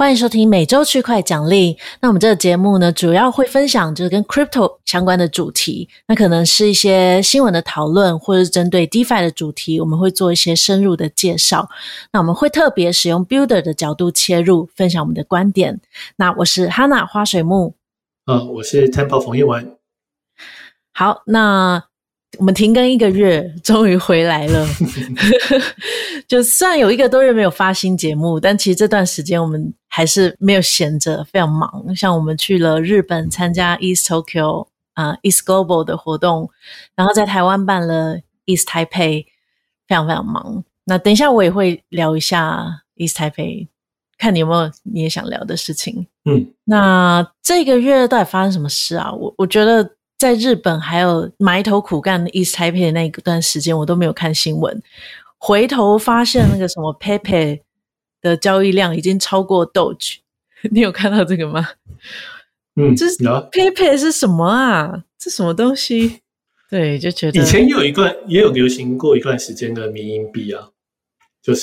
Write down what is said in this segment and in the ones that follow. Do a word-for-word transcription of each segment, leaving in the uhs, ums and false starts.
歡迎收聽每週區塊獎勵。那我們這個節目呢，主要會分享就是跟 crypto 相關的主題，那可能是一些新聞的討論，或者是針對 DeFi 的主題，我們會做一些深入的介紹。那我們會特別使用 Builder 的角度切入，分享我們的觀點。那我是 Hana 花水木， 呃，我是 Temple 馮一文。 好，那我們停更一個月，終於回來了。就雖然有一個多月沒有發新節目，但其實這段時間我們還是沒有閒着，非常忙。像我們去了日本參加 East Tokyo 啊、呃、East Global 的活動，然後在台灣辦了 East Taipei， 非常非常忙。那等一下我也會聊一下 East Taipei， 看你有沒有你也想聊的事情。 嗯， 那這個月到底發生什麼事啊？我我覺得在日本還有埋頭苦幹的 East Taipei 的那一段時間，我都沒有看新聞。回頭發現那個什麼 Pepe 的交易量已經超過 Doge， 你有看到這個嗎？ 嗯， 這 Pepe 是什麼啊？這什麼東西？對，就覺得以前有一段也有流行過一段時間的迷因幣啊，就是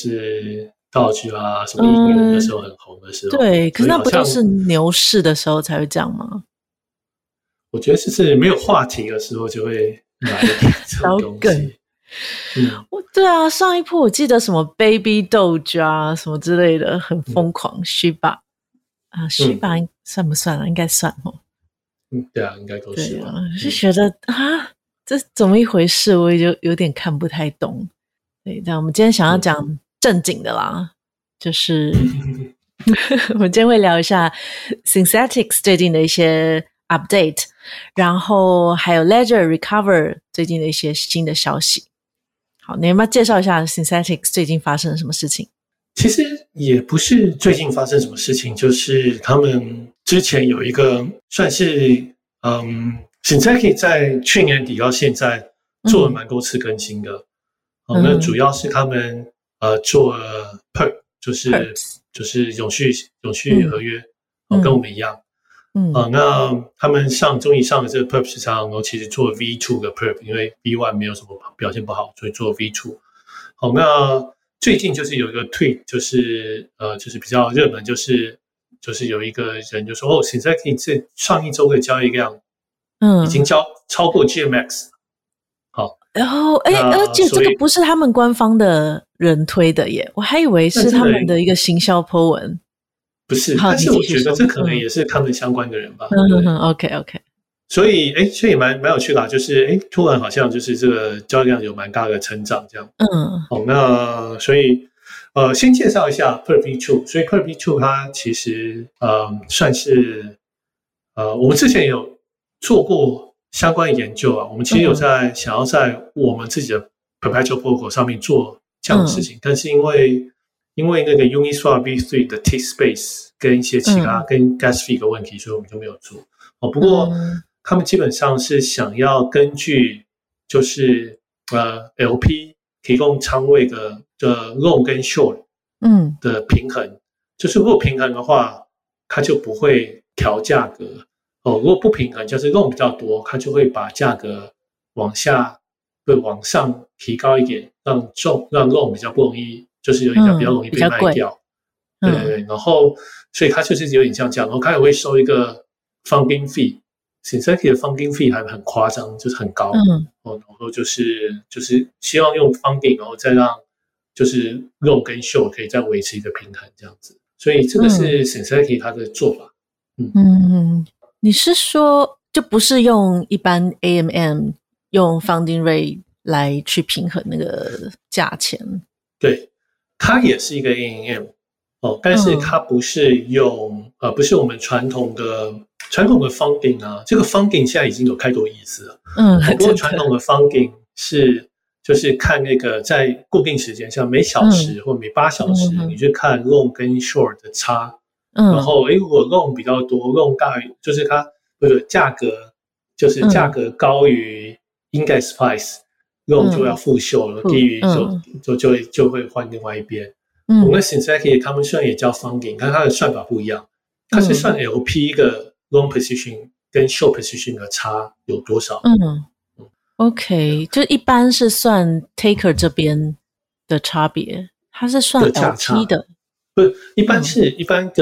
Doge 啊，什麼應用的時候很紅的時候。嗯、對，可是那不都是牛市的時候才會這樣嗎？我覺得就是沒有話題的時候就會來這種東西。嗯， 對啊，上一波我記得什麼 Baby Doge 啊，什麼之類的，很瘋狂。Shiba 啊，Shiba 算不算啊？應該算哦。 嗯，對啊，應該都是。對啊， 就覺得啊，這怎麼一回事？我也就有點看不太懂。對，但我們今天想要講正經的啦，嗯、就是我們今天會聊一下 Synthetix 最近的一些 update， 然後還有 Ledger Recover 最近的一些新的消息。好，你要不要介紹一下 Synthetix 最近發生了什麼事情？ 其實也不是最近發生什麼事情，就是他們之前有一個算是嗯 Synthetix 在去年底到現在做了蠻多次更新的。嗯哦、那主要是他們呃做了 P E R P， 就是 Perps 就是永續永續合約，嗯哦、跟我們一樣。嗯、呃，那他們上終於上了這個 P E R P 市場，然後其實做 V 二 的 P E R P， 因為 V 一 沒有什麼表現不好，所以做 V 二。好，那最近就是有一個 tweet， 就是呃，就是比較熱門，就是就是有一個人就說，哦 Synthetix 這上一周的交易量，嗯，已經交超過 G M X。好， 然後哎，而且這個不是他們官方的人推的耶，我還以為是他們的一個行銷 po 文。 不是，但是我覺得這可能也是他們相關的人吧。 嗯嗯 ，OK OK。 所以，哎，所以蠻蠻有趣的啦，就是哎，突然好像就是這個交易量有蠻大的成長，這樣。嗯。好，那所以呃，先介紹一下 P E R P 二。所以 P E R P 二它其實呃算是呃我們之前有做過相關的研究啊，我們其實有在、嗯、想要在我們自己的 Perpetual Protocol 上面做這樣的事情，嗯、但是因為因為那個 Uniswap V 三 的 T Space 跟一些其他、嗯、跟 Gas Fee 的問題，所以我們就沒有做。哦，不過、嗯、他們基本上是想要根據就是呃 L P 提供倉位的的 Long 跟 Short 嗯的平衡，嗯、就是如果平衡的話，它就不會調價格。哦，如果不平衡，就是 Long 比較多，它就會把價格往下會往上提高一點，讓重讓 Long 比較不容易。就是有點像比較容易被賣掉，嗯、對對對，然後所以它就是有點像這樣，然後它也會收一個 funding fee，Synthetix 的 funding fee 還很誇張，就是很高，嗯，然後就是就是希望用 funding，然後再讓就是 long 跟 short 可以再維持一個平衡這樣子，所以這個是 Synthetix 它的做法，嗯嗯，你是說就不是用一般 A M M 用 funding rate 來去平衡那個價錢？ 對。它也是一個 A M M 哦，但是它不是用、嗯、呃，不是我們傳統的傳統的 funding 啊。這個 funding 現在已經有太多意思了。嗯，不過傳統的 funding 是就是看那個在固定時間，像每小時或每八小時，嗯、你去看 long 跟 short 的差。嗯，然後誒，如果 long 比較多 ，long 大於就是它不是價格，就是價格高於 index price。long 就要復秀了，嗯、低於就、嗯、就就會就會換另外一邊。嗯，我們 Synthetix 他們雖然也叫 funding， 但它的算法不一樣，它是算 L P 一個 long position 跟 short position 的差有多少。嗯，嗯 ，OK， 就一般是算 taker 這邊的差別，它是算 L P 的，不是一般是、嗯、一般的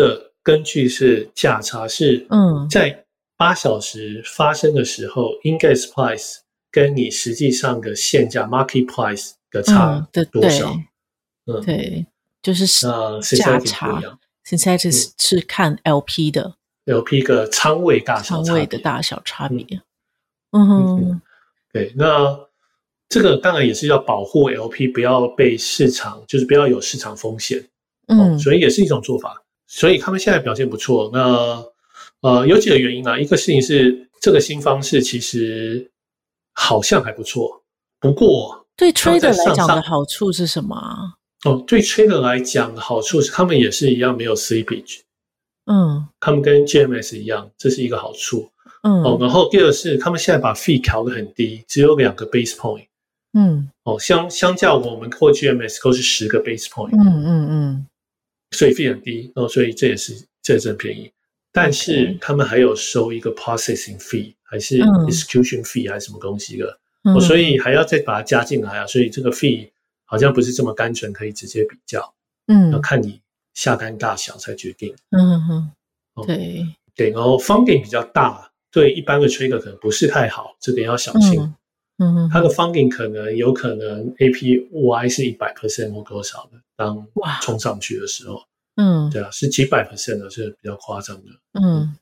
根據是價差是嗯，在八小時發生的時候、嗯、index price 跟你實際上的現價 market price 的差多少？ 嗯，對，嗯對就是價差。Synthetic 是看 L P 的 ，L P 個倉位大小差別，倉位的大小差別。嗯哼，嗯對，那這個當然也是要保護 L P 不要被市場，就是不要有市場風險。嗯、哦，所以也是一種做法。所以他們現在表現不錯。那呃，有幾個原因啊，一個事情是這個新方式其實好像還不錯，不過對 trader 來講的好處是什麼啊？ 哦，對 trader 來講的好處是，他們也是一樣沒有 slippage， 嗯，他們跟 G M S 一樣，這是一個好處，嗯，哦，然後第二是他們現在把 fee 調得很低，只有兩個 base point，嗯，哦，相相較我們或 G M S 都是十個 base point，嗯嗯嗯，所以 fee 很低，哦，所以這也是這也是很便宜，但是他們還有收一個 processing fee， 還是 execution fee 還是什麼東西的，嗯，哦，所以還要再把它加進來啊，所以這個 fee。好像不是這麼單純可以直接比較，嗯，要看你下單大小才決定，嗯哼，對、哦、對，然後 funding 比較大，對一般的 trader 可能不是太好，這點要小心，嗯哼，它的 funding 可能有可能 A P Y 是 百分之百 或多少的，當衝上去的時候，嗯，對啊，是幾百 percent 的，是比較誇張的，嗯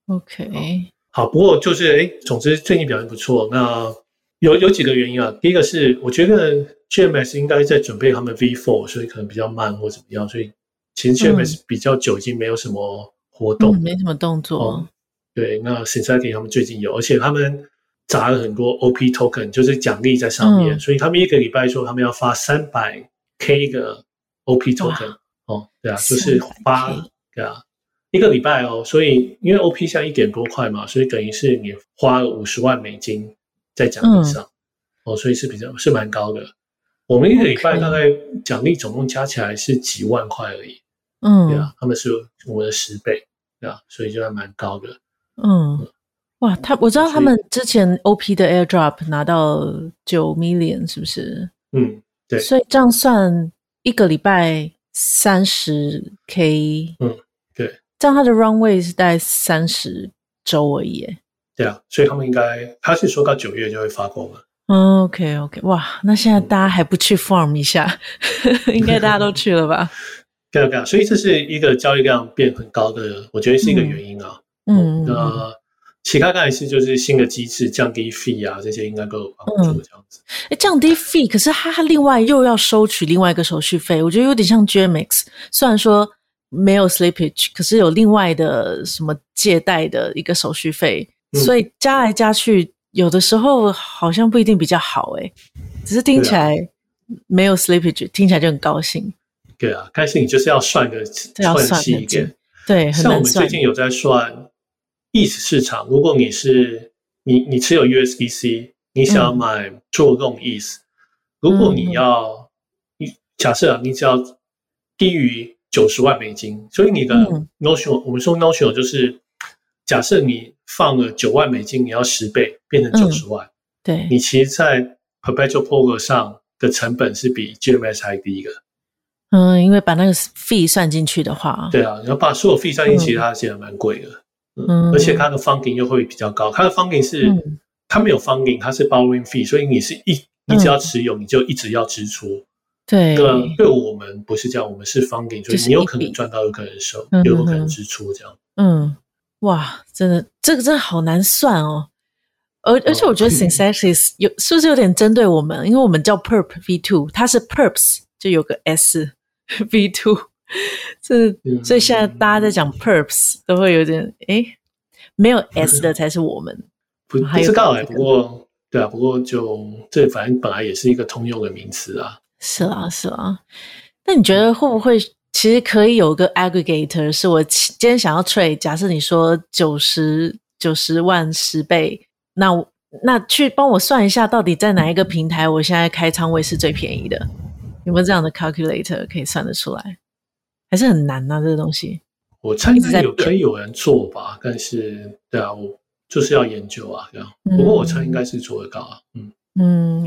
，OK， 好，不過就是哎，總之最近表現不錯，那有有幾個原因啊，第一個是我覺得。G M S 應該在準備他們 V 四，所以可能比較慢或怎麼樣，所以其實 G M S 比較久已經沒有什麼活動， 嗯、沒什麼動作。哦、 對，那 Synthetic 他們最近有，而且他們砸了很多 O P token， 就是獎勵在上面，嗯、所以他們一個禮拜說他們要發三百 K 個 O P token， 哦，對啊，就是發對啊，一個禮拜哦，所以因為 O P 現在一點多塊嘛，所以等於是你花了五十萬美金在獎勵上，嗯、哦，所以是比較是蠻高的。我們一個禮拜大概獎勵總共加起來是幾萬塊而已，嗯，對啊，他們是我們的十倍，對啊，所以就還蠻高的，嗯， 哇，他我知道他們之前 O P 的 airdrop 拿到九 million 是不是？嗯，對，所以這樣算一個禮拜三十 K， 嗯，對， 這樣他的 runway 是大概三十周而已， 對啊，所以他們應該他是說到九月就會發光了。 Oh, OK OK， 哇，那現在大家還不去 farm 一下，嗯、應該大家都去了吧？ 對啊對啊，所以這是一個交易量變很高的，我覺得是一個原因啊。嗯，那、呃、其他當然是就是新的機制降低 fee 啊，這些應該都有幫助這樣子。 哎、嗯，降低 fee， 可是它另外又要收取另外一個手續費，我覺得有點像 G M X， 雖然說沒有 slippage， 可是有另外的什麼借貸的一個手續費，嗯、所以加來加去。有的時候好像不一定比較好誒，只是聽起來沒有 slippage，、啊、聽起來就很高興。 對啊，但是你就是要算個算細一點。 對，很難算。 像我們最近有在算 E T H 市場，如果你是你你持有 U S D C， 你想要買做 long E T H，、嗯、如果你要你假設啊，你只要低於九十萬美金，所以你的 notional、嗯、我們說 notional 就是假設你放了九萬美金，你要十倍變成九十萬、嗯。對，你其實，在 Perpetual Poker 上的成本是比 G M S 還低的。 嗯，因為把那個 fee 算進去的話， 對啊，你要把所有 fee 算進去，它其實蠻貴的。嗯，嗯而且它的 funding 又會比較高。它的 funding 是、嗯、它沒有 funding， 它是 borrowing fee， 所以你是一你只要持有，嗯、你就一直要支出。對，那對我們不是這樣，我們是 funding， 所以你有可能賺到，有可能收，嗯、有可能支出這樣。嗯。 哇，真的，這個真的好難算哦。而而且我覺得 Synthetic 有是不是有點針對我們？因為我們叫 Perp V 二，它是 Perps 就有個 S V 二，這所以現在大家在講 Perps 都會有點誒，沒有 S 的才是我們。 不不知道哎，不過對啊，不過就這反正本來也是一個通用的名詞啊。 是啊，是啊。那你覺得會不會？其實可以有個 aggregator， 是我今天想要 trade， 假設你說九十九十萬十倍，那那去幫我算一下，到底在哪一個平台，我現在開倉位是最便宜的？有沒有這樣的 calculator 可以算得出來？還是很難啊，這個東西。 我猜應該有可以有人做吧，但是對啊，我就是要研究啊，這樣。嗯、不過我猜應該是做得到啊。嗯嗯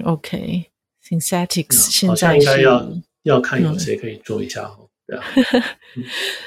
，OK，Synthetics、okay. 現在好像應該要要看有誰可以做一下哦。嗯、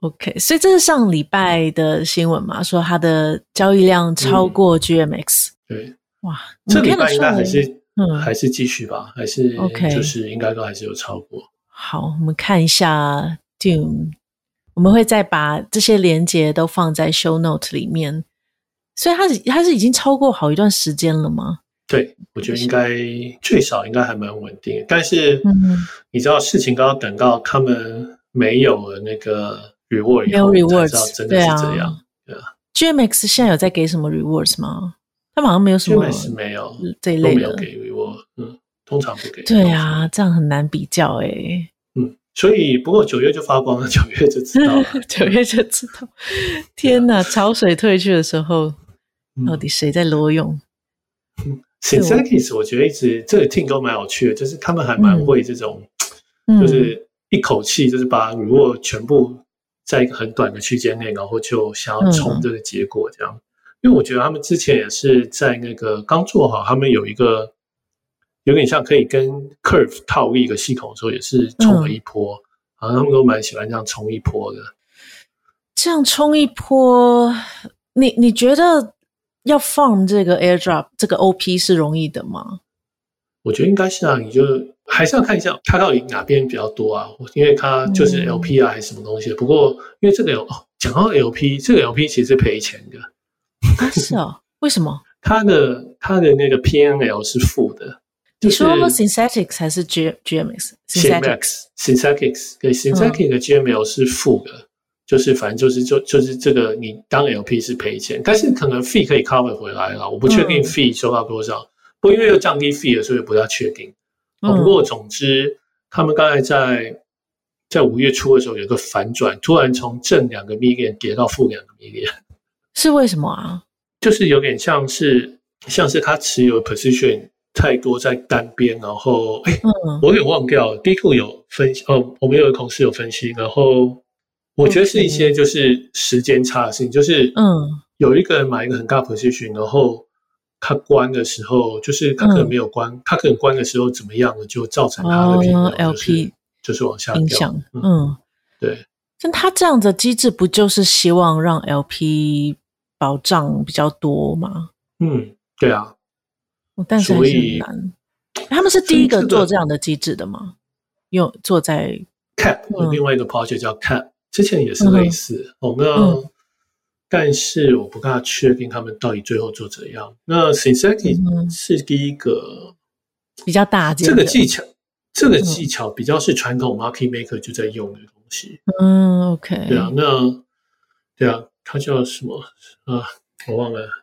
OK， 所以這是上禮拜的新聞嘛？說它的交易量超過 G M X。 嗯、對， 哇， 這禮拜應該還是嗯還是繼續吧？還是 OK， 就是應該都還是有超過。 好，我們看一下 Dune， 我們會再把這些連結都放在 show note 裡面。所以它是它是已經超過好一段時間了嗎？ 對，我覺得應該最少應該還蠻穩定的。但是你知道事情剛剛等到他們沒有了那個 reward 以後，沒有 rewards， 才知道真的是這樣。對啊， G M X 現在有在給什麼 rewards 嗎？他們好像沒有什麼 G M X 沒有這一類的， 都沒有給 reward， 嗯，通常不給。 對啊，這樣很難比較哎、欸。 嗯，所以不過九月就發光了，九月就知道了， 九月就知道。天哪，潮水退去的時候。到底誰在裸泳？ 嗯 Synthetics 我覺得一直這個 team 都蠻有趣的，就是他們還蠻會這種，嗯、就是一口氣就是把 reward 全部在一個很短的區間內，然後就想要衝這個結果這樣。嗯、因為我覺得他們之前也是在那個剛做好，他們有一個有點像可以跟 Curve 套一個系統的時候，也是衝了一波，好像、嗯、他們都蠻喜歡這樣衝一波的。 這樣衝一波，你你覺得？要 farm 這個 airdrop 這個 O P 是容易的嗎？ 我覺得應該是啊，你就還是要看一下它到底哪邊比較多啊，因為它就是 L P 啊還是什麼東西的。嗯、不過因為這個有哦，講到 L P， 這個 L P 其實是賠錢的。 啊，是哦，為什麼？ 它的它的那個 P N L 是負的。 你說 Synthetics 還是 G GMX？Synthetics Synthetics 對 Synthetics 的 G M L 是負的。嗯，就是反正就是就就是這個你當 L P 是賠錢，但是可能 fee 可以 cover 回來了，我不確定 fee 收到多少，嗯、不過因為又降低 fee 了，所以不大確定。嗯、不過總之，他們剛才在在五月初的時候有一個反轉，突然從正兩個 million 跌到負兩個 million， 是為什麼啊？就是有點像是像是他持有 position 太多在單邊，然後哎，嗯、我有點忘掉了 ，D 庫有分析哦，我們有個同事有分析，然後。我覺得是一些就是時間差的事情，就是嗯，有一個人買一個很大 position，然後他關的時候，就是他可能沒有關，他可能關的時候怎麼樣了，就造成他的 L P 就是往下影響。嗯， 對。 但他這樣的機制不就是希望讓 L P 保障比較多嗎？ 嗯，對啊。 但是還是很難。他們是第一個做這樣的機制的嗎？用做在 Cap 有另外一個 project 叫 Cap。之前也是類似，嗯、哦，那、嗯、但是我不大確定他們到底最後做怎樣。那 Synthetic 是第一個比較大件， 這個技巧，這個技巧比較是傳統 market maker 就在用的東西。 嗯 ，OK， 對啊，那對啊，它叫什麼啊？我忘了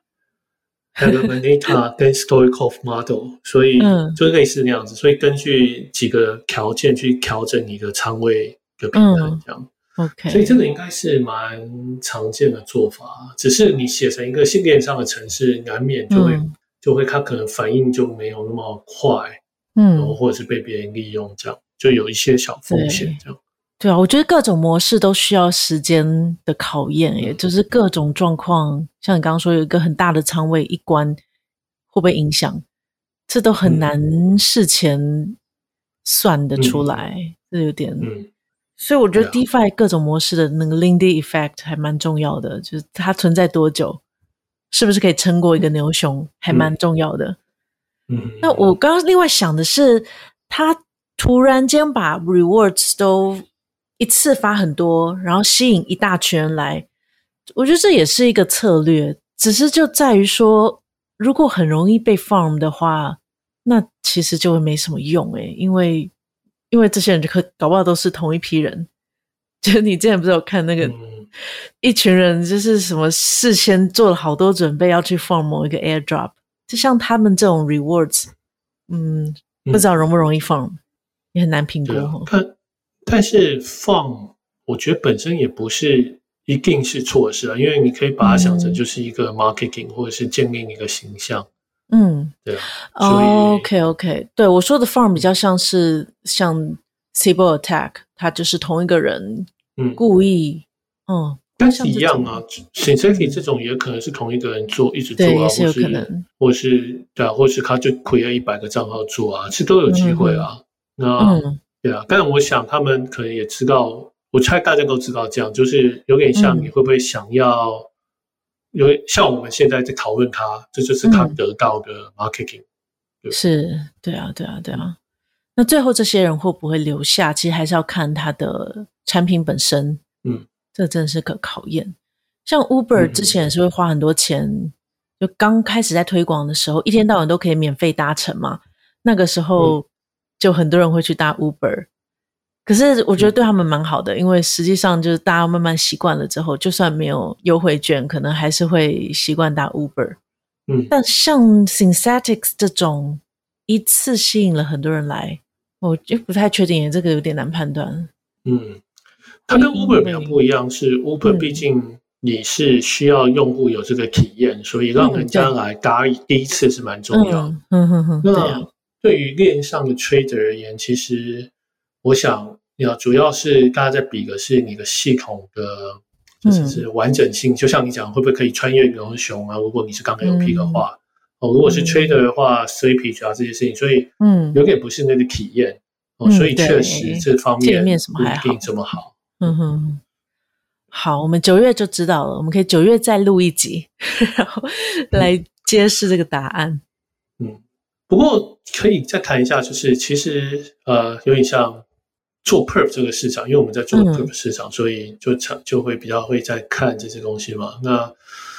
Alameda 跟 Stoichkov model， 所以就類似那樣子，所以根據幾個條件去調整你的倉位的平衡，這樣。嗯 OK， 所以這個應該是蠻常見的做法，只是你寫成一個線鏈上的程式，難免就會、嗯、就會它可能反應就沒有那麼快，嗯，然後或者是被別人利用，這樣就有一些小風險，這樣。 對啊，我覺得各種模式都需要時間的考驗，也、嗯、就是各種狀況，像你剛剛說有一個很大的倉位一關會不會影響，這都很難事前算得出來，嗯、這有點嗯。所以我覺得 DeFi 各種模式的那個 Lindy Effect 還蠻重要的，就是它存在多久，是不是可以撐過一個牛熊，還蠻重要的。嗯，那我剛剛另外想的是，他突然間把 Rewards 都一次發很多，然後吸引一大群人來，我覺得這也是一個策略，只是就在於說，如果很容易被 farm 的話，那其實就會沒什麼用誒，因為因為這些人就可搞不好都是同一批人，就你之前不是有看那個、嗯、一群人就是什麼事先做了好多準備要去放某一個 airdrop， 就像他們這種 rewards， 嗯，不知道容不容易放，嗯、也很難評估、啊。 但但是放，我覺得本身也不是一定是錯事啊，因為你可以把它想成就是一個 marketing、嗯、或者是建立一個形象。嗯，對啊。 哦 OK OK， 對，我說的 farm 比較像是像 Sybil attack， 他就是同一個人故意，嗯，嗯但是一樣啊 Synthetic 這種也可能是同一個人做，一直做啊， 對，也是有可能， 或是，或是對啊，或是他就 create 一百個賬號做啊，其實都有機會啊。嗯、那、嗯、對啊，但我想他們可能也知道我猜大家都知道這樣，就是有點像你會不會想要，嗯、有像我們現在在討論它，這就是它得到的 marketing。嗯、對是，對啊，對啊，對啊。那最後這些人會不會留下？其實還是要看它的產品本身。嗯，這真的是個考驗。像 Uber 之前也是會花很多錢，嗯、就剛開始在推廣的時候，一天到晚都可以免費搭乘嘛。那個時候就很多人會去搭 Uber。可是我覺得對他們蠻好的，因為實際上就是大家慢慢習慣了之後，就算沒有優惠券，可能還是會習慣搭 Uber。嗯，但像 Synthetics 這種一次吸引了很多人來，我就不太確定，這個有點難判斷。 嗯，它跟 Uber 比較不一樣，是 Uber 畢竟你是需要用戶有這個體驗，嗯、所以讓人家來搭第一次是蠻重要的。嗯嗯嗯嗯。那對於鏈上的 trader 而言，其實我想，要主要是大家在比的是你的系統的，就是是完整性。嗯、就像你講，會不會可以穿越牛熊啊？如果你是剛 L P 的話，嗯、哦，如果是 trader 的話 ，slippage 啊這些事情，所以嗯，有點不是那個體驗、嗯、哦，所以確實這方面不一定這麼好。 嗯哼，好，我們九月就知道了，我們可以九月再錄一集，然後來揭示這個答案。 嗯，不過可以再談一下，就是其實呃，有點像。做 perp 這個市場，因為我們在做 perp 市場，嗯、所以就就會比較會在看這些東西嘛。那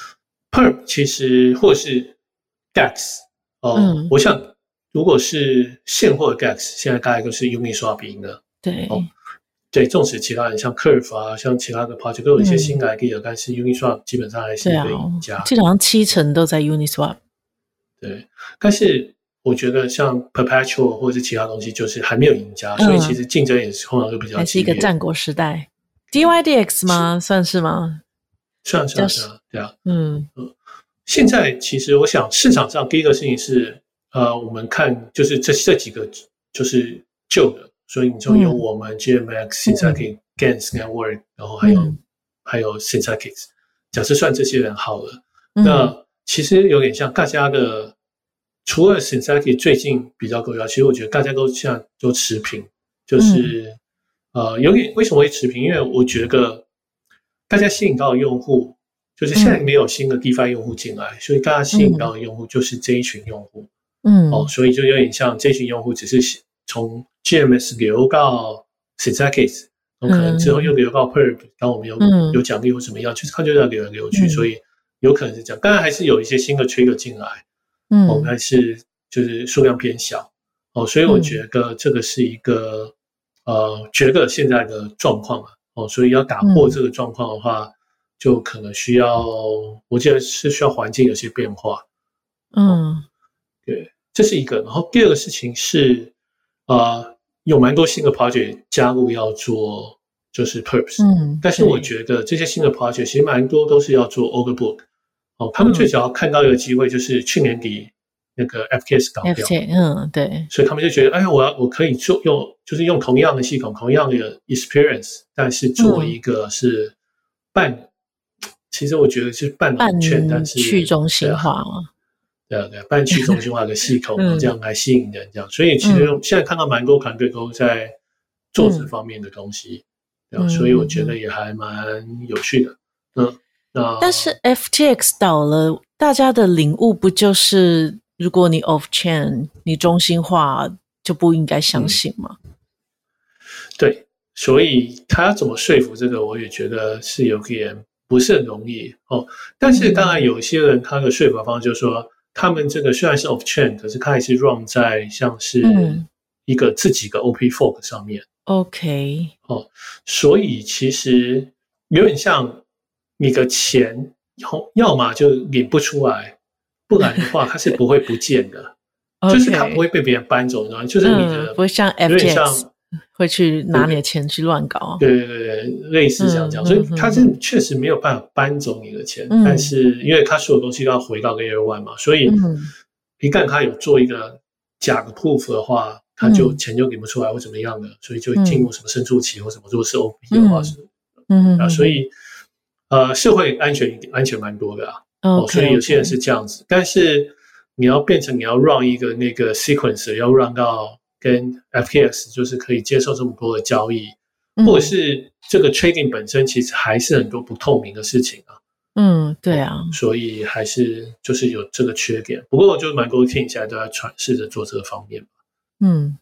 perp 其實或是 D E X 哦，嗯、我想如果是現貨的 D E X， 現在大概都是 Uniswap 贏的。 對， 哦，對，縱使其他人像 Curve 啊，像其他的 project 都有一些新的 idea，、嗯、但是 Uniswap 基本上還是一個贏家。 基本上七成都在 Uniswap。 對，但是。我覺得像 Perpetual 或者是其他東西，就是還沒有贏家，嗯、所以其實競爭也是通常都比較激烈。還是一個戰國時代 ，D Y D X 嗎？是算是嗎？ 算算算，對啊，嗯嗯。現在其實我想市場上第一個事情是，呃，我們看就是這這幾個就是舊的，所以你就有我們 G M X、Synthetix、Gans Network，然後還有、嗯、還有 Synthetix。假設算這些人好了，嗯、那其實有點像大家的。除了 Synthetix 最近比較高壓，其實我覺得大家都現在都持平，就是、嗯、呃有點為什麼會持平？因為我覺得大家吸引到的用戶，就是現在沒有新的 DeFi 用戶進來，嗯、所以大家吸引到的用戶就是這一群用戶，嗯，哦，所以就有點像這群用戶只是從 G M S 流到 Synthetix， 然後可能之後又流到 Perp， 然後我們有、嗯、有獎勵或怎麼樣，就是他就在流來流去，嗯、所以有可能是這樣。當然還是有一些新的 Trigger 進來。嗯，哦，但是就是數量偏小，哦，所以我覺得這個是一個、嗯、呃，覺得現在的狀況啊，哦，所以要打破這個狀況的話，嗯、就可能需要，我覺得是需要環境有些變化，嗯、哦，對，這是一個。然後第二個事情是，呃，有蠻多新的 project 加入要做就是 Perps， 嗯，但是我覺得這些新的 project 其實蠻多都是要做 Order Book。哦，他們最早要看到一個機會，就是去年底那個 F T X 搞掉 ，F T X， 嗯，對， 所以他們就覺得，哎，我要我可以做用，就是用同樣的系統，同樣的 experience， 但是做一個是半，嗯、其實我覺得是半冷卻，但是去中心化嘛， 對啊，對啊，半去中心化的系統，嗯、這樣來吸引人，這樣，所以其實現在看到蠻多團隊都在做這方面的東西，嗯、對啊，所以我覺得也還蠻有趣的，嗯。 但是 F T X 倒了，大家的領悟不就是如果你 off chain， 你中心化就不應該相信嗎？嗯、 對，所以他要怎麼說服這個，我也覺得是有點不是很容易哦。但是當然有些人他的說服方式就是說，他們這個雖然是 off chain， 可是他還是 run 在像是一個自己的 O P fork 上面。OK，、嗯、哦，所以其實有點像。你的錢要麼就領不出來，不然的話它是不會不見的， okay, 就是它不會被別人搬走，然後就是你的、嗯、不會像 F T X 會去拿你的錢去亂搞，對對對對，類似像這樣，嗯、所以它是確實沒有辦法搬走你的錢，嗯、但是因為它所有東西都要回到 Layer One 嘛，所以一旦它有做一個假的 proof 的話，它就錢就領不出來或怎麼樣的，所以就進入什麼深處期或什麼，如果是 O P 的話是，嗯啊，所以。呃，社會安全安全蠻多的啊，okay, 哦，所以有些人是這樣子。Okay. 但是你要變成你要 run 一個那個 sequence，要 run 到跟 F T X 就是可以接受這麼多的交易， 嗯、或者是這個 trading 本身其實還是很多不透明的事情啊。 嗯，對啊， 所以還是就是有這個缺點。不過我就蠻多 team 現在都在嘗試着做這個方面。 嗯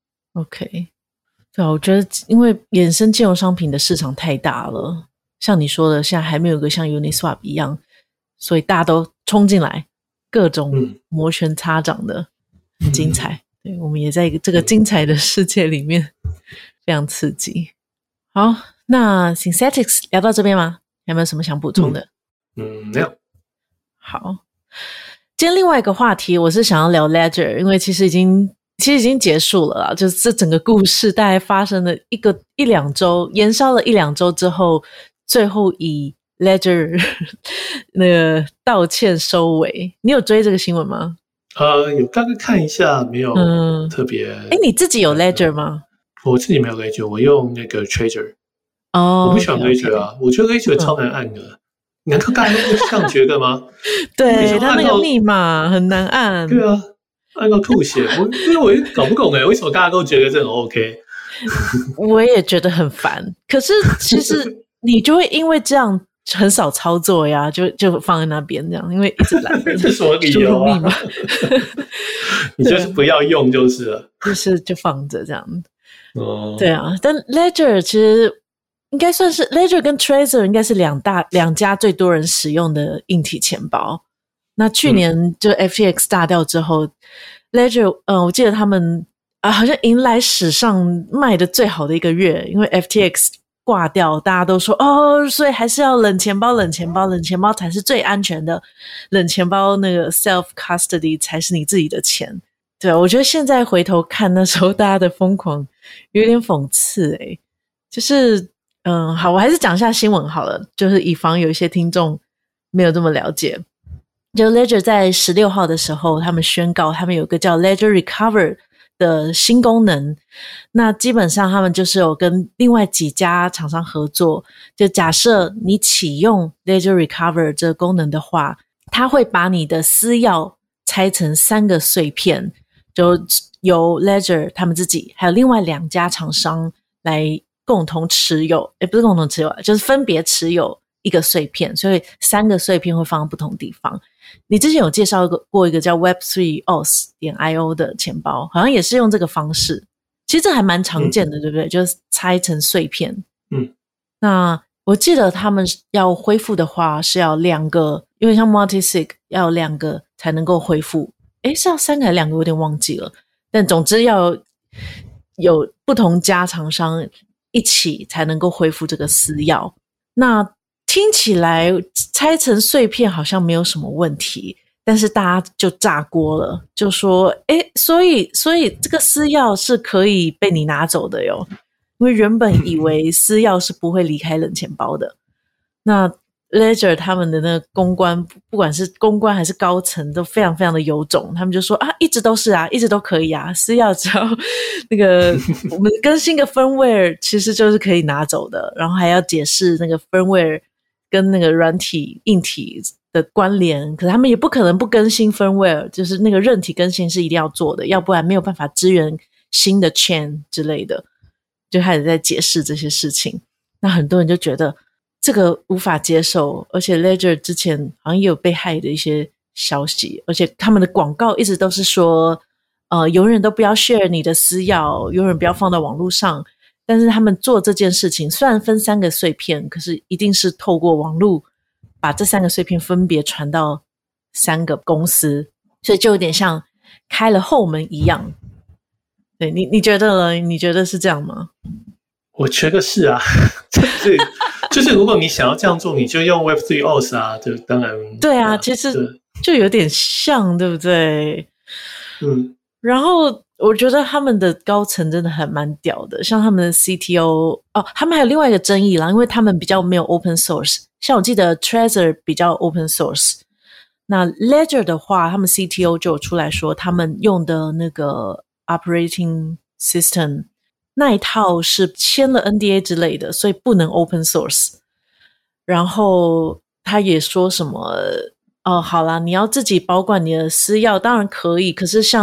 ，OK， 對啊，我覺得因為衍生金融商品的市場太大了，像你說的，現在還沒有個像 Uniswap 一樣，所以大家都衝進來，各種摩拳擦掌的，嗯、很精彩。嗯、對，我們也在這個精彩的世界裡面，嗯、非常刺激。好，那 Synthetix 聊到這邊嗎？有沒有什麼想補充的？嗯嗯，沒有。 好，今天另外一個話題，我是想要聊 Ledger， 因為其實已經其實已經結束了啦，就是這整個故事大概發生了一個一兩周，延燒了一兩周之後，最後以 Ledger 那個道歉收尾。你有追這個新聞嗎？ 呃，有大概看一下，沒有特別。哎、 嗯，你自己有 Ledger 嗎？ 我自己沒有 Ledger， 我用那個 Trezor。哦，我不喜歡 Ledger 啊， okay, okay. 我覺得 Ledger 超難按的。嗯，難道大家都會這樣覺得嗎？ 對，他那個密碼很難按。 對啊，按到吐血。我因為我也搞不懂哎，為什麼大家都覺得這很 OK？ 我也覺得很煩。可是其實你就會因為這樣很少操作呀，就就放在那邊這樣，因為一直懶得這什麼理由啊？密碼你就是不要用就是了， 就是就放着這樣。哦，對啊，但 Ledger 其實。應該算是 Ledger 跟 Trezor 應該是兩大兩家最多人使用的硬體錢包。那去年就 F T X 大掉之後，嗯、Ledger 呃，我記得他們啊、呃，好像迎來史上賣的最好的一個月，因為 F T X 掛掉，大家都說哦，所以還是要冷錢包，冷錢包，冷錢包才是最安全的，冷錢包那個 self custody 才是你自己的錢。對，我覺得現在回頭看那時候大家的瘋狂，有點諷刺誒，就是。嗯，好，我還是講一下新聞好了，就是以防有一些聽眾沒有這麼了解。就 Ledger 在十六號的時候，他們宣告他們有個叫 Ledger Recover 的新功能。那基本上他們就是有跟另外幾家廠商合作，就假設你啟用 Ledger Recover 這個功能的話，它會把你的私鑰拆成三個碎片，就由 Ledger 他們自己還有另外兩家廠商來共同持有，誒不是共同持有，就是分別持有一個碎片，所以三個碎片會放在不同地方。你之前有介紹過一個叫 web 三 O S 點 I O 的錢包，好像也是用這個方式。其實這還蠻常見的，嗯、對不對？就是拆成碎片。嗯，那我記得他們要恢復的話是要兩個，因為像 multi-sig 要兩個才能夠恢復。誒是要三個還是兩個？我有點忘記了。但總之要有不同家廠商一起才能夠恢復這個私鑰。那聽起來拆成碎片好像沒有什麼問題，但是大家就炸鍋了，就說誒所以所以這個私鑰是可以被你拿走的喲，因為原本以為私鑰是不會離開冷錢包的。那 Ledger 他們的那個公關，不管是公關還是高層都非常非常的有種，他們就說啊，一直都是啊，一直都可以啊，私鑰只要那個我們更新個 firmware 其實就是可以拿走的，然後還要解釋那個 firmware 跟那個軟體硬體的關聯，可是他們也不可能不更新 firmware， 就是那個韌體更新是一定要做的，要不然沒有辦法支援新的 chain 之類的，就開始在解釋這些事情。那很多人就覺得這個無法接受，而且 Ledger 之前好像也有被害的一些消息，而且他們的廣告一直都是說呃，永遠都不要 share 你的私鑰，永遠不要放到網絡上。但是他們做這件事情雖然分三個碎片，可是一定是透過網絡把這三個碎片分別傳到三個公司，所以就有點像開了後門一樣。對，你你覺得呢？你覺得是這樣嗎？ 我覺得是啊，就是就是如果你想要這樣做，你就用 web 三 O S 啊，就當然對啊，其實就有點像，對不對？嗯，然後我覺得他們的高層真的還蠻屌的，像他們的 C T O 哦，他們還有另外一個爭議啦，因為他們比較沒有 open source， 像我記得 Trezor 比較 open source， 那 Ledger 的話，他們 C T O 就有出來說，他們用的那個 operating system 那一套是簽了 N D A 之類的，所以不能 open source。然後他也說什麼，哦，好啦，你要自己保管你的私鑰，當然可以，可是像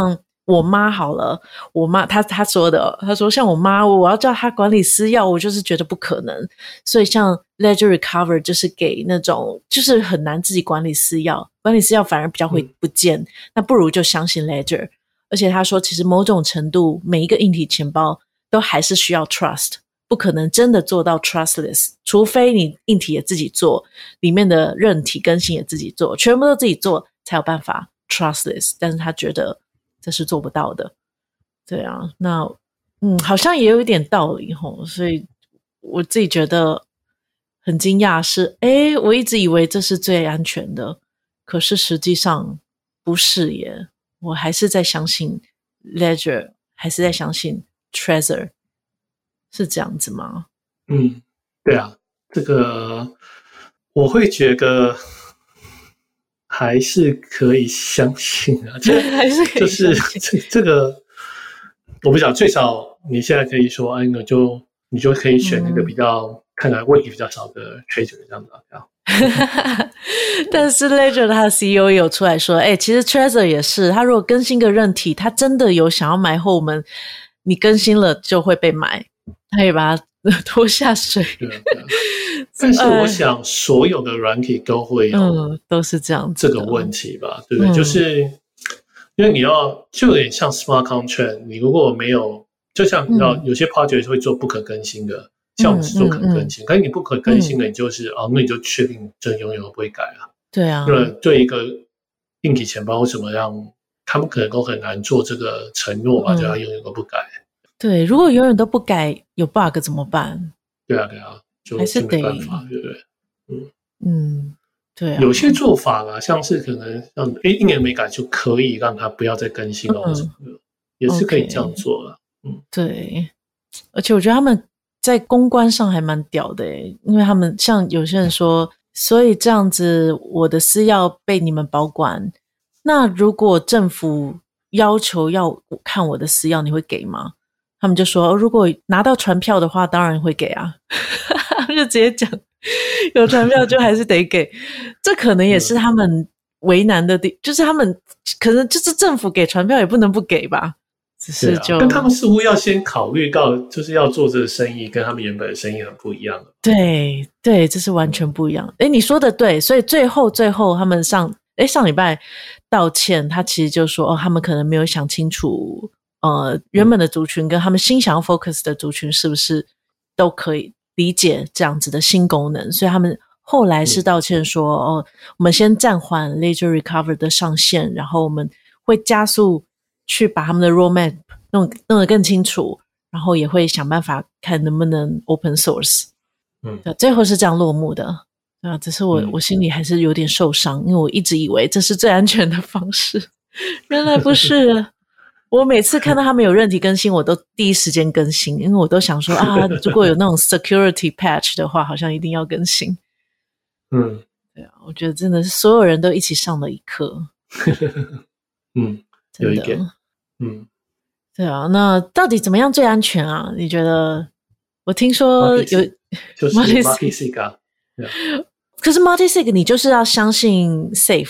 我媽好了，我媽她她說的，她說像我媽，我要叫她管理私鑰，我就是覺得不可能。所以像 Ledger Recover 就是給那種就是很難自己管理私鑰，管理私鑰反而比較會不見，嗯、那不如就相信 Ledger。而且她說，其實某種程度，每一個硬體錢包都還是需要 trust， 不可能真的做到 trustless， 除非你硬體也自己做，裡面的韌體更新也自己做，全部都自己做才有辦法 trustless。但是她覺得這是做不到的，對啊，那嗯，好像也有一點道理齁，所以我自己覺得很驚訝是，誒，我一直以為這是最安全的，可是實際上不是耶，我還是在相信 Ledger， 還是在相信 Trezor， 是這樣子嗎？ 嗯，對啊，這個我會覺得還是可以相信啊，就還是可以就是這這個，我不講，最少你現在可以說，哎，那就你就可以選那個比較、嗯、看來問題比較少的 Trezor 這樣子啊。 但是 Ledger 他的 C E O 也有出來說，哎，其實 Trezor 也是，他如果更新個韌體，他真的有想要買後門，你更新了就會被買，他也把它拖下水。對啊，對啊。但是我想所有的軟體都會有、嗯、 都是這樣子這個問題吧，對不對？嗯、就是因為你要就有點像 smart contract， 你如果沒有，就像你知道、嗯、有些 project 會做不可更新的，像我們是做可更新，嗯嗯嗯、可是你不可更新的，你就是、嗯、哦，那你就確定這永遠都不會改啊。對啊，因為對一個硬體錢包為什麼讓他們可能都很難做這個承諾嘛，就他永遠都不改。 對，如果永遠都不改，有 bug 怎麼辦？對啊，對啊。就還是沒辦法，對不對？嗯嗯，對啊。 有些做法啊，像是可能讓誒一年沒改就可以讓它不要再更新了，什麼的，也是可以這樣做的。嗯，對。而且我覺得他們在公關上還蠻屌的誒，因為他們像有些人說，所以這樣子我的私鑰被你們保管，那如果政府要求要看我的私鑰，你會給嗎？他們就說，如果拿到傳票的話，當然會給啊。就直接講，有傳票就還是得給，這可能也是他們為難的地，就是他們可能就是政府給傳票也不能不給吧，只是就、啊、 但他們似乎要先考慮到，就是要做這個生意跟他們原本的生意很不一樣。 對對，這是完全不一樣。誒，你說的對，所以最後最後他們上誒上禮拜道歉，他其實就說哦，他們可能沒有想清楚，呃，原本的族群跟他們新想要 focus 的族群是不是都可以理解這樣子的新功能，所以他們後來是道歉說、嗯、哦，我們先暫緩 Ledger Recover 的上線，然後我們會加速去把他們的 roadmap 弄弄得更清楚，然後也會想辦法看能不能 open source。嗯，對，最後是這樣落幕的。對啊，只是我、嗯、我心裡還是有點受傷，因為我一直以為這是最安全的方式，原來不是。我每次看到他們有韌體更新，我都第一時間更新，因為我都想說啊，如果有那種 security patch 的話，好像一定要更新。嗯，對啊，我覺得真的是所有人都一起上了一課。 嗯，有一點。嗯， 對啊，那到底怎麼樣最安全啊？你覺得？我聽說有就是 multi-sig 啊， 可是 multi-sig 你就是要相信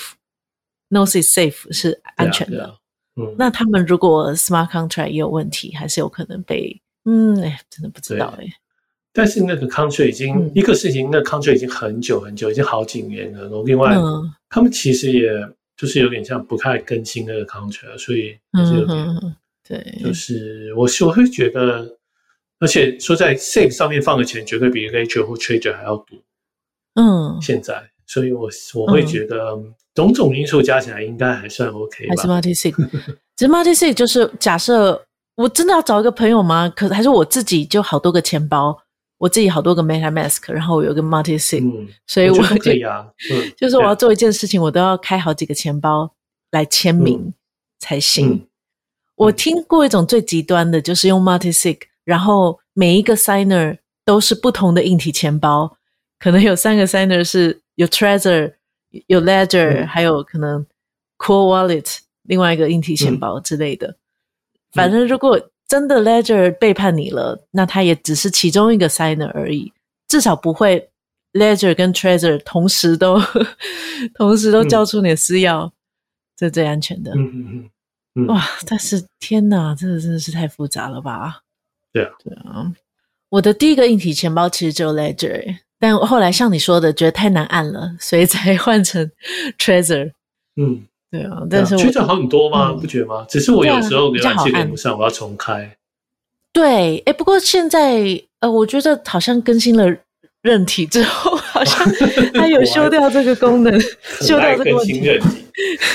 safe，no is safe 是安全的。嗯、那他們如果 smart contract 也有問題，還是有可能被嗯，哎，真的不知道哎。 但是那個 contract 已經、嗯、一個事情，那個 contract 已經很久很久，已經好幾年了。然後另外，嗯、他們其實也就是有點像不太更新那個 contract，所以就是有點、嗯、對，就是我我會覺得，而且說在 safe 上面放的錢絕對比 Ledger 或 Trezor 還要多。嗯，現在，所以我我會覺得。嗯種種因素加起來應該還算 OK 吧。還是 multi-sig， 其實 multi-sig 就是假設我真的要找一個朋友嗎？可是還是我自己就好多個錢包，我自己好多個 MetaMask， 然後我有一個 multi-sig，、嗯、所以我就，我就可以啊。嗯、就是我要做一件事情，我都要開好幾個錢包來簽名才行。嗯嗯、我聽過一種最極端的，就是用 multi-sig， 然後每一個 signer 都是不同的硬體錢包，可能有三個 signer 是有 Trezor。有 Ledger、嗯、還有可能 Core Wallet 另外一個硬體錢包之類的、嗯、反正如果真的 Ledger 背叛你了，那它也只是其中一個 signer 而已，至少不會 Ledger 跟 Trezor 同時都同時都交出你的私鑰、嗯、這是最安全的。嗯嗯嗯， 嗯、 哇！但是天哪，這個真的是太複雜了吧？ 對啊， 對啊。我的第一個硬體錢包其實只有 Ledger， 但後來像你說的，覺得太難按了，所以才換成 Trezor。 嗯， 對啊，但是我 Trezor 好很多嗎？嗯、不覺得嗎？只是我有時候瀏覽器連不上，我要重開。 對，哎，不過現在呃，我覺得好像更新了韌體之後，好像它有修掉這個功能，修掉這個問題。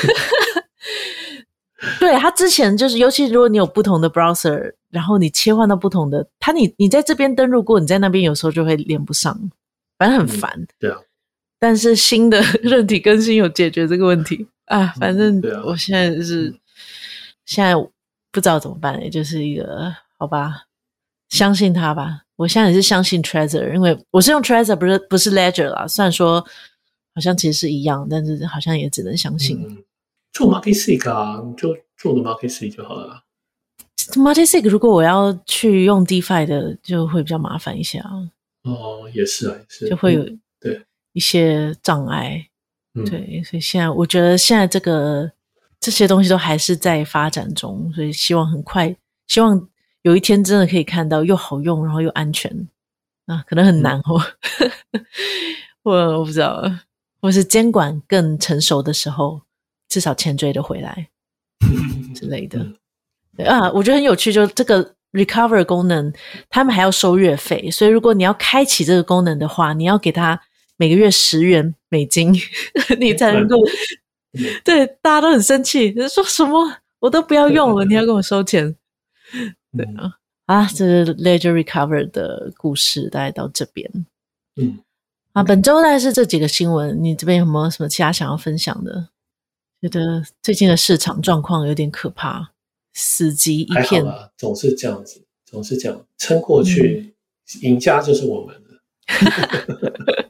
對，它之前就是，尤其如果你有不同的 browser， 然後你切換到不同的，它你你在這邊登錄過，你在那邊有時候就會連不上，反正很煩。嗯、 對啊。 但是新的韌體更新有解決這個問題啊，反正我現在就是、嗯、現在不知道怎麼辦，也就是一個好吧，相信它吧。我現在也是相信 Trezor， 因為我是用 Trezor， 不是不是 Ledger 啦。雖然說好像其實是一樣，但是好像也只能相信。 嗯做 multi-sig 啊，就做個 multi-sig 就好了。 multi-sig 如果我要去用 DeFi 的，就會比較麻煩一些啊。 哦，也是啊，也是， 就會有對一些障礙。 嗯、 對，所以現在我覺得現在這個這些東西都還是在發展中，所以希望很快，希望有一天真的可以看到又好用，然後又安全啊，可能很難哦。嗯、我我不知道，或是監管更成熟的時候。至少錢追得回來之類的。對啊，我覺得很有趣，就這個 recover 功能他們還要收月費，所以如果你要開啟這個功能的話，你要給他每個月十元美金你才能夠、嗯、對，大家都很生氣，說什麼我都不要用了，你要跟我收錢。對啊，啊，這是 Ledger Recover 的故事大概到這邊。 嗯， 啊，本周大概是這幾個新聞，你這邊有沒有什麼其他想要分享的？覺得最近的市場狀況有點可怕，死寂一片。 還好啦，總是這樣子，總是這樣，撐過去，嗯、贏家就是我們的。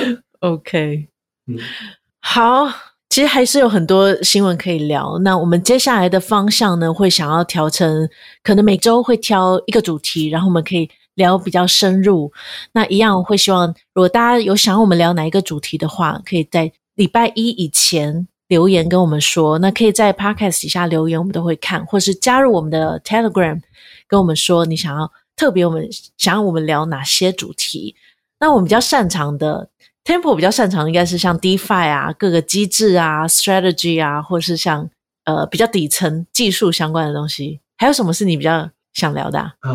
OK， 嗯， 好，其實還是有很多新聞可以聊。那我們接下來的方向呢，會想要調成，可能每周會挑一個主題，然後我們可以聊比較深入。那一樣會希望，如果大家有想要我們聊哪一個主題的話，可以在禮拜一以前留言跟我們說，那可以在 Podcast 底下留言，我們都會看，或是加入我們的 Telegram 跟我們說你想要特別我們想要我們聊哪些主題。那我們比較擅長的 Tempo 比較擅長的應該是像 DeFi 啊，各個機制啊 strategy 啊，或是像呃比較底層技術相關的東西。還有什麼是你比較想聊的啊？啊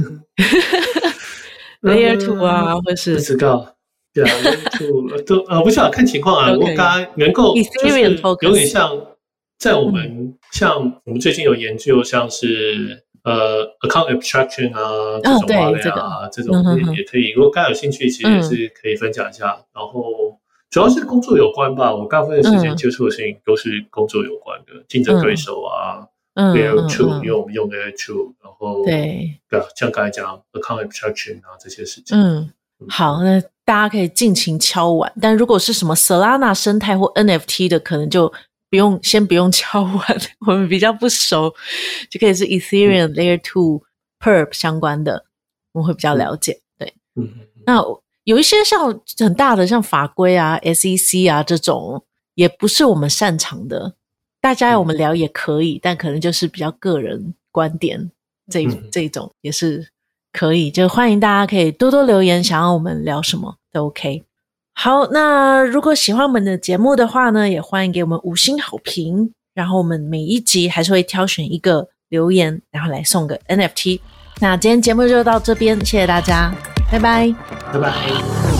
Layer two 啊，或是不知道。對啊，都呃，不知道看情況啊。Okay. 我剛剛能夠就是有點像在我們、嗯、像我們最近有研究，像是呃 account abstraction 啊這種話類啊、哦、這種也也可以。如果大家有興趣，其實也是可以分享一下。嗯、然後主要是工作有關吧，我大部分的時間接觸的事情都是工作有關的，競爭對手啊。 嗯 Layer two、嗯、因為我們用 Layer two， 然後對對啊，像剛才講 account abstraction 啊這些事情。 嗯，好，那大家可以盡情敲碗，但如果是什麼 Solana 生態或 N F T 的，可能就不用先不用敲碗，我們比較不熟，就可以是 Ethereum、嗯、Layer two Perp 相關的，我們會比較了解。對， 嗯， 那有一些像很大的像法規啊 S E C 啊這種，也不是我們擅長的，大家要我們聊也可以，嗯、但可能就是比較個人觀點，這、嗯、這種也是可以，就歡迎大家可以多多留言，想要我們聊什麼都 OK。好，那如果喜歡我們的節目的話呢，也歡迎給我們五星好評，然後我們每一集還是會挑選一個留言，然後來送個 N F T。那今天節目就到這邊，謝謝大家，拜拜， 拜拜。